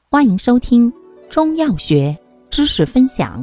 欢迎收听中药学知识分享。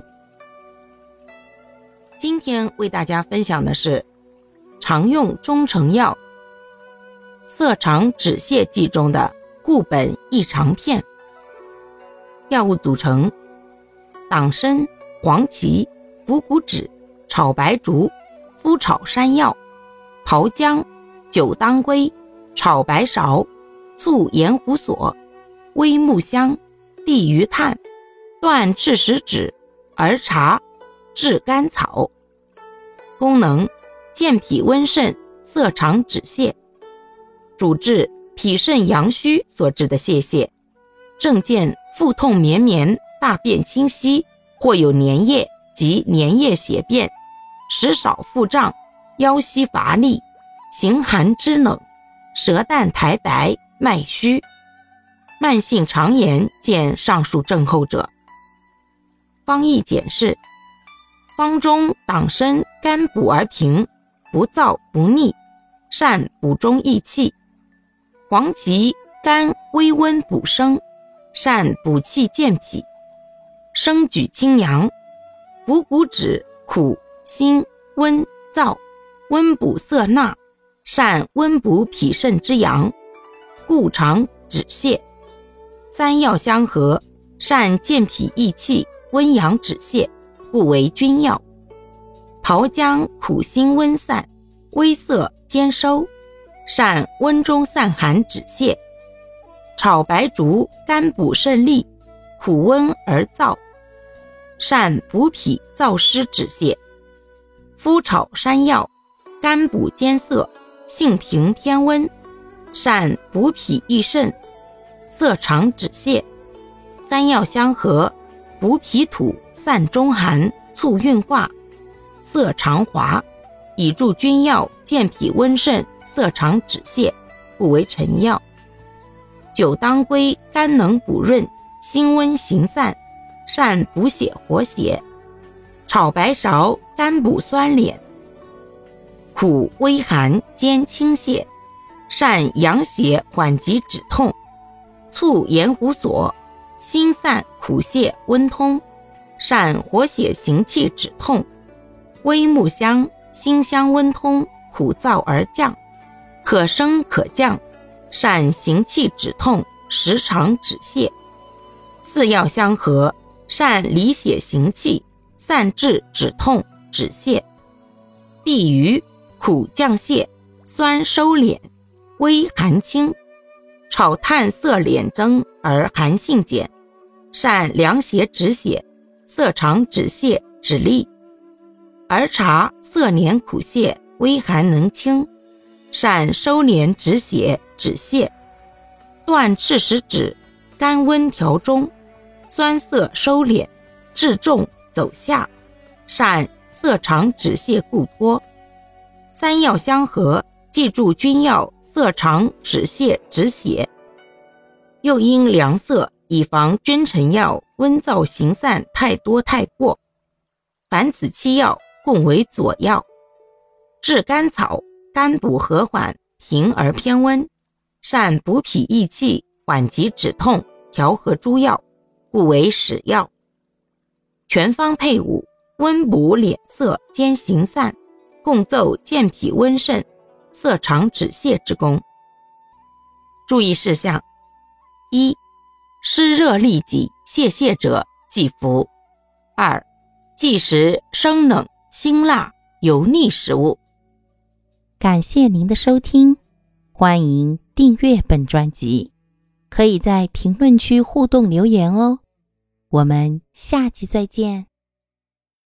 今天为大家分享的是常用中成药色肠止泻剂中的固本益肠片。药物组成：党参、黄芪、补骨脂、炒白术、麸炒山药、炮姜、酒当归、炒白芍、醋盐胡索、微木香、地榆炭、断赤石脂、儿茶、炙甘草。功能：健脾温肾，色肠止泻。主治脾肾阳虚所致的泄泻，症见腹痛绵绵，大便清晰，或有粘液及粘液血便，食少腹胀，腰膝乏力，形寒肢冷，舌淡苔白，脉虚。慢性肠炎见上述症候者。方义简释：方中党参甘补而平，不燥不腻，善补中益气；黄芪甘微温补生，善补气健脾；生举清阳；补骨脂苦辛温燥，温补涩纳，善温补脾肾之阳，固肠止泻。三药相合，善健脾益气，温阳止泻，故为君药。炮姜苦辛温散，微涩兼收，善温中散寒止泻。炒白术甘补肾利，苦温而燥，善补脾燥湿止泻。麸炒山药甘补兼涩，性平偏温，善补脾益肾，色肠止泻。三药相合，补脾土，散中寒，促运化，色肠滑，以助君药，健脾温肾，色肠止泻，故为臣药。酒当归甘能补润，辛温行散，善补血活血。炒白芍甘补酸敛，苦微寒兼清泻，善养血缓急止痛。醋盐胡索辛散苦泻温通，善活血行气止痛。微木香辛香温通，苦燥而降，可升可降，善行气止痛，食肠止泻。四药相合，善理血行气，散滞止痛止泻。地榆苦降泻，酸收敛，微寒清，炒炭色敛增而寒性减，善凉血止血，色肠止泻止痢。儿茶色黏苦泻，微寒能清，善收敛止血止泻。断赤石脂甘温调中，酸涩收敛，治重走下，善色肠止泻固脱。三药相合，记住君药，色肠止泻止血。又因凉涩，以防君臣药温燥行散太多太过。凡此七药共为佐药。炙甘草甘补和缓，平而偏温，善补脾益气，缓急止痛，调和诸药，故为使药。全方配伍，温补敛涩兼行散，共奏健脾温肾，色肠止泻之功。注意事项：一、湿热痢疾泄泻者忌服。二、忌食生冷、辛辣、油腻食物。感谢您的收听，欢迎订阅本专辑，可以在评论区互动留言哦。我们下期再见。